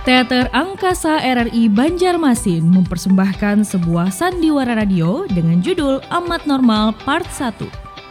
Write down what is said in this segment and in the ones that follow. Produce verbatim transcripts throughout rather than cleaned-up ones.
Teater Angkasa R R I Banjarmasin mempersembahkan sebuah sandiwara radio dengan judul Amat Normal Part satu.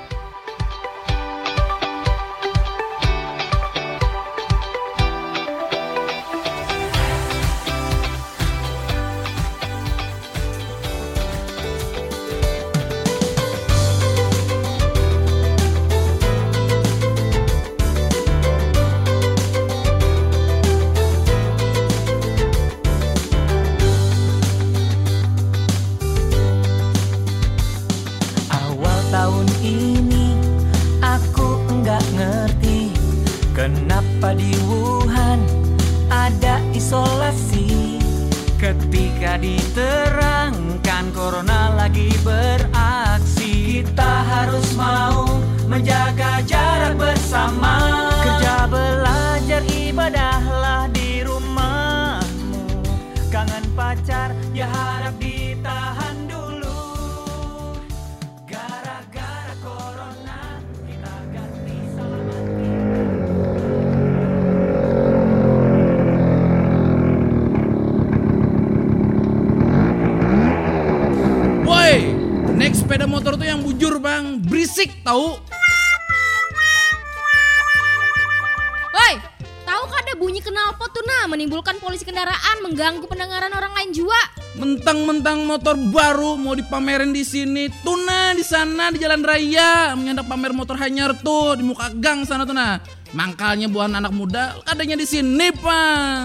Tahun ini aku enggak ngerti kenapa di Wuhan ada isolasi. Ketika diterangkan corona lagi beraksi, kita harus mau menjaga jarak bersama. Kerja, belajar, ibadahlah di rumahmu. Kangen pacar ya harap ditahan dulu. Naik sepeda motor tuh yang bujur bang, berisik tahu. Woi, tahu kan ada bunyi knalpot tuh nah, menimbulkan polusi kendaraan, mengganggu pendengaran orang lain juga. Mentang-mentang motor baru mau dipamerin di sini, tuh nah di sana di jalan raya menyandak pamer motor hanyar tuh di muka gang sana tuh nah. Mangkalnya buah anak muda, adanya di sini bang.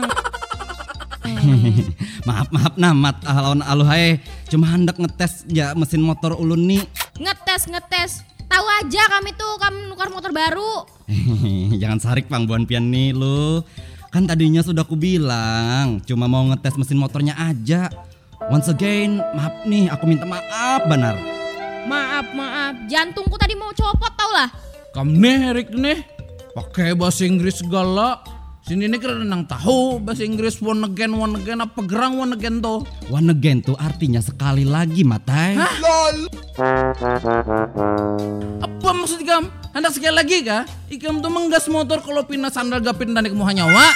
Maaf maaf namat alon aluhai cuma hendak ngetes ya mesin motor ulun nih. Ngetes ngetes. Tahu aja kami tuh kamu nukar motor baru. Jangan sarik Bang Buan Pian nih lu. Kan tadinya sudah aku bilang cuma mau ngetes mesin motornya aja. Once again, maaf nih aku minta maaf benar. Maaf maaf, jantungku tadi mau copot tau lah. Kamu nih Erik nih pakai bahasa Inggris segala. Sini ini kira nang tahu bahasa Inggris one again one again apa gerang one again tuh. One again tuh artinya sekali lagi matai. Hah? Lol. Apa maksud ikam? Hendak sekali lagi kah? Ikam tuh menggas motor kalau pindah sandal gapin dan ikmu hanyawa.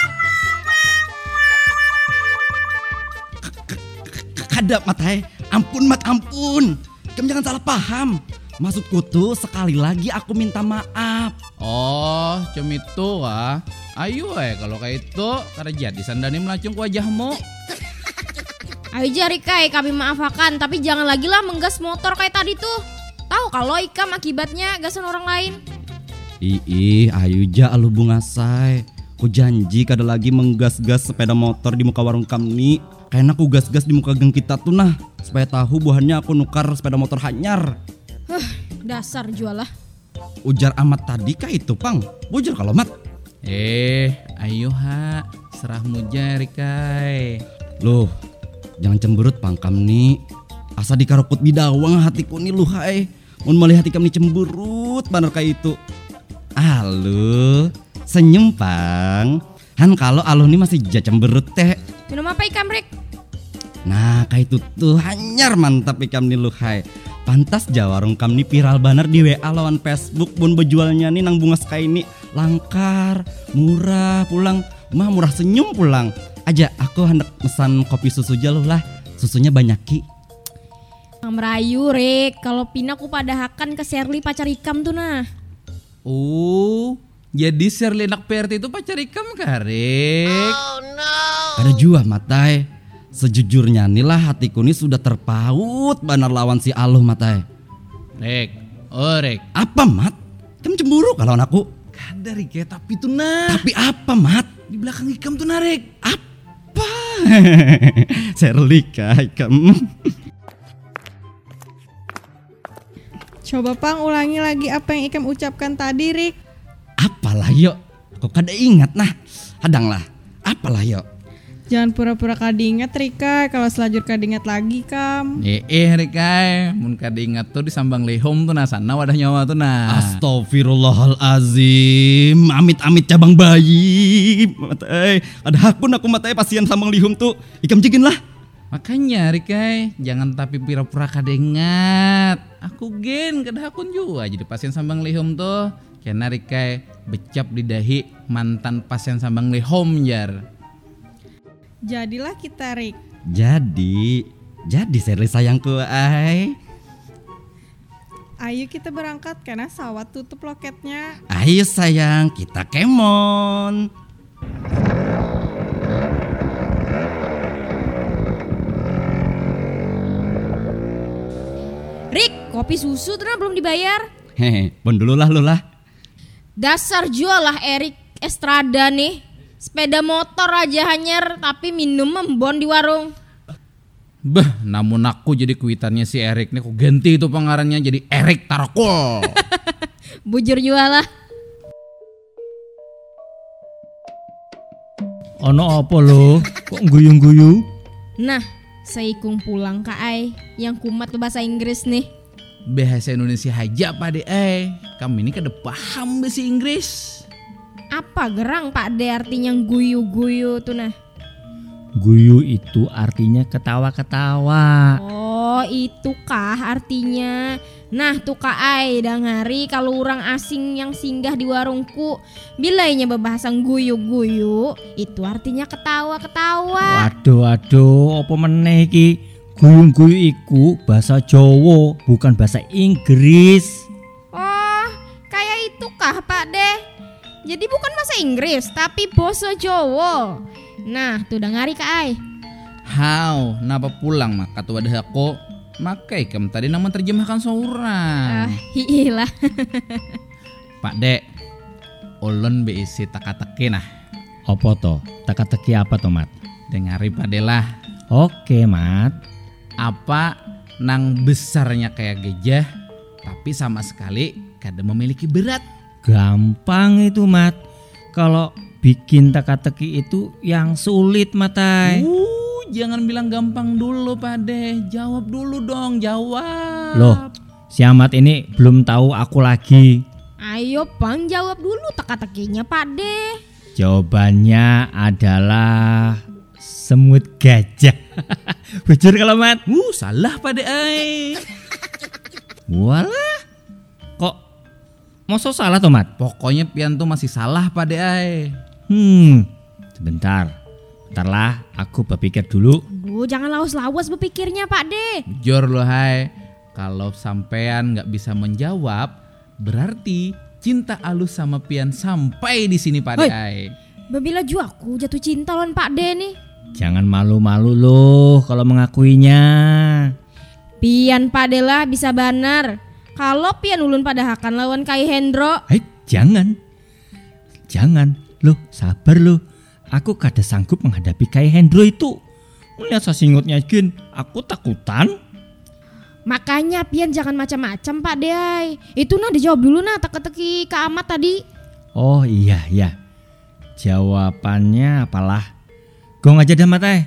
Kadap matai. Ampun mat ampun. Ikam jangan salah paham. Maksudku tuh sekali lagi aku minta maaf. Oh, cuma itu ah. Ayo eh kalau kayak itu karena jadi sandani melacung ke wajahmu. Ayo jari kai kami maafakan, tapi jangan lagi lah menggas motor kayak tadi tuh. Tahu kalau ikam akibatnya gasan orang lain. Ih, ayo ja alu bunga say. Ku janji kada lagi menggas-gas sepeda motor di muka warung kami. Kayaknya aku gas-gas di muka geng kita tuh nah, supaya tahu buahnya aku nukar sepeda motor hanyar. Huh, dasar jualah. Ujar amat tadi kah itu pang? Bujur kalau mat. Eh, ayo ha, serahmu jari kai. Loh, jangan cemberut pangkam nih. Asa dikarokut bidawang hatiku nih lu hai. Mun melihat ikam nih cemberut bener kayak itu. Aluh, senyum pang. Han kalau aluh nih masih ja cemberut teh. Minum apa ikam Rik? Nah kayak itu tuh hanyar mantap ikam nih lu hai. Pantas jawarung kam nih viral banner di W A lawan Facebook bun bejualnya nih nang bunga sky ini langkar, murah pulang, mah murah senyum pulang. Aja aku hendak pesan kopi susu jauh lah, susunya banyak ki. Nang merayu Rik, kalau pina ku padahakan ke Sherly pacar ikam tuh nah. Oh, jadi Sherly anak P R T itu pacar ikam Karik. Oh no. Ada jua matai. Sejujurnya nih lah hatiku nih sudah terpaut banar lawan si Aluh matai. Rek, oh Rek. Apa mat? Kamu cemburu kalau aku? Kada Rik ya, tapi tuh nah. Tapi apa mat? Di belakang ikam tuh nah Rek. Apa? Sherly kah ikam? Coba pang ulangi lagi apa yang ikam ucapkan tadi Rik. Apalah yuk? Kok kada ingat nah? Hadang lah. Apalah yuk? Jangan pura-pura kada ingat Rika, kalau selajur kada ingat lagi kam. Eh eh Rika, mun kada ingat tuh di sambang lehom tuh nah sana wadah nyawa tuh nah. Astagfirullahalazim. Amit-amit cabang bayi. Matai, ada hakun aku matai pasien sambang lihum tuh. Ikam jigin lah. Makanya Rika, jangan tapi pura-pura kada ingat. Aku gen kada hakun juga jadi pasien sambang lehom tuh. Karena Rika becap di dahi mantan pasien sambang lehom jar. Jadilah kita, Rik. Jadi, jadi Sherly sayangku, ay. Ayo kita berangkat karena sawat tutup loketnya. Ayo sayang, kita kemon. Rik, kopi susu tuh belum dibayar. Hehe, bon dulu lah lu lah. Dasar jual lah Erik Estrada nih. Sepeda motor aja hanyar tapi minum membon di warung. Beh, namun aku jadi kuitannya si Erik nih, aku ganti itu pengarannya jadi Erik Tarakul. Bujur jual lah. Ono apa lo? Kok guyung-guyu? Nah, seikung pulang ka ai yang kumat bahasa Inggris nih. Bahasa Indonesia aja Pak De, eh kami ini kada paham bahasa Inggris. Apa gerang Pak De artinya guyu-guyu tuh nah? Guyu itu artinya ketawa-ketawa. Oh, itu kah artinya? Nah, tuh Kak Ai dang hari kalau orang asing yang singgah di warungku bilainya bebahasan guyu-guyu, itu artinya ketawa-ketawa. Waduh, waduh, apa meneh iki? Guyu-guyu iku bahasa Jawa, bukan bahasa Inggris. Oh, kayak itu kah Pak De? Jadi bukan bahasa Inggris, tapi bahasa Jawa. Nah, tuh dang hari Kak Ai. How, napa pulang mak kata wadah aku? Makai kem tadi nama terjemahkan seorang. Ah, hiilah. Pak Dek, ulun be isi teka-teki nah. Apa to? Teka-teki apa to, Mat? Dengari Pak De lah. Oke, Mat. Apa nang besarnya kayak gajah, tapi sama sekali kada memiliki berat. Gampang itu, Mat. Kalau bikin teka-teki itu yang sulit, Matai. Uh, jangan bilang gampang dulu Pak De. Jawab dulu dong, jawab. Loh, si Ahmad ini belum tahu aku lagi. Ayo Bang, jawab dulu teka-tekinya Pak De. Jawabannya adalah semut gajah. Bujur kalau Mat. Uh, salah Pak De ay. Walah. Kok masa salah toh, Mat? Pokoknya pian tuh masih salah Pak De ay. Hmm, sebentar. Bentar lah, aku berpikir dulu. Aduh, jangan lawas-lawas berpikirnya Pak De. Jujur loh hai, kalau sampean nggak bisa menjawab, berarti cinta alus sama pian sampai di sini Pak De Hoi. ay. Babila ju aku jatuh cinta lawan Pak De nih. Jangan malu-malu loh kalau mengakuinya. Pian Pak De lah bisa banar. Kalau pian ulun pada hakan lawan Kai Hendro. Hei, jangan. Jangan. Loh, sabar loh. Aku kada sanggup menghadapi Kai Hendro itu. Melihat sasingutnya gin, aku takutan. Makanya pian jangan macam-macam Pak De ay. Itu nah dijawab dulu nah teka-teki Kak Ahmad tadi. Oh iya iya. Jawabannya apalah? Gong aja dah Matai.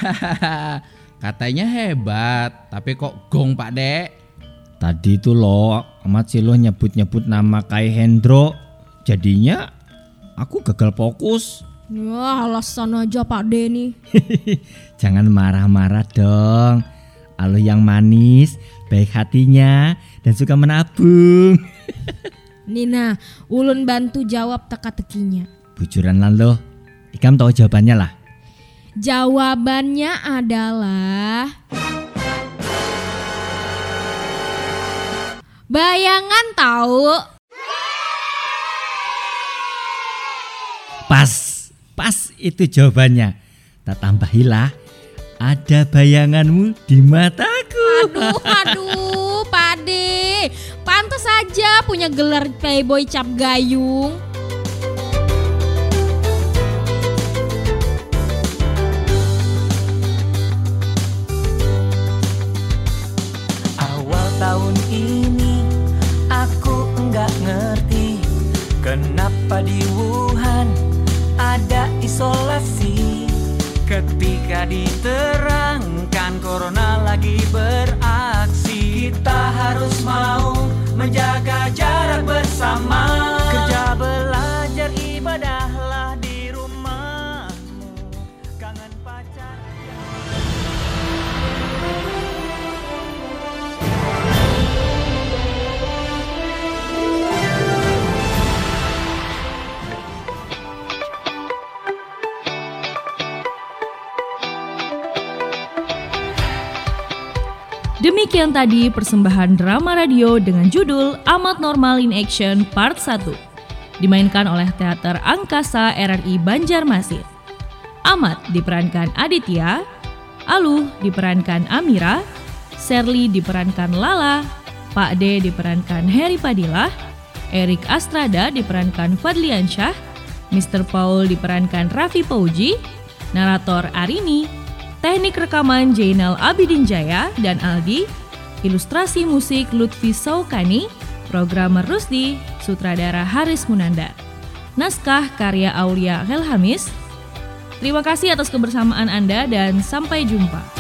Katanya hebat, tapi kok gong Pak De? Tadi itu loh Ahmad Silo nyebut-nyebut nama Kai Hendro. Jadinya aku gagal fokus. Wah, alasan aja Pak De nih. Jangan marah-marah dong. Alo yang manis, baik hatinya, dan suka menabung. Nina, ulun bantu jawab teka-tekinya. Bujuran lah lo. Ikam tahu jawabannya lah. Jawabannya adalah bayangan tahu. Pas, pas itu jawabannya. Tak tambahilah, ada bayanganmu di mataku. Aduh, aduh, Pak De. Pantas saja punya gelar playboy cap gayung. Awal tahun ini aku enggak ngerti kenapa di Wuhan ada isolasi. Ketika diterangkan corona lagi beraksi, kita harus mau menjaga jarak bersama. Kerja belajar ibadahlah di rumahmu. Kangen pacar. Demikian tadi persembahan drama radio dengan judul Amat Normal in Action Part satu, dimainkan oleh Teater Angkasa R R I Banjarmasin. Amat diperankan Aditya, Aluh diperankan Amira, Sherly diperankan Lala, Pak D diperankan Heri Padilah, Erik Astrada diperankan Fadliansyah, mister Paul diperankan Raffi Pauji, narator Arini, teknik rekaman Jainal Abidin Jaya dan Aldi, ilustrasi musik Lutfi Saukani, programmer Rusdi, sutradara Haris Munandar, naskah karya Aulia Helhamis. Terima kasih atas kebersamaan Anda dan sampai jumpa.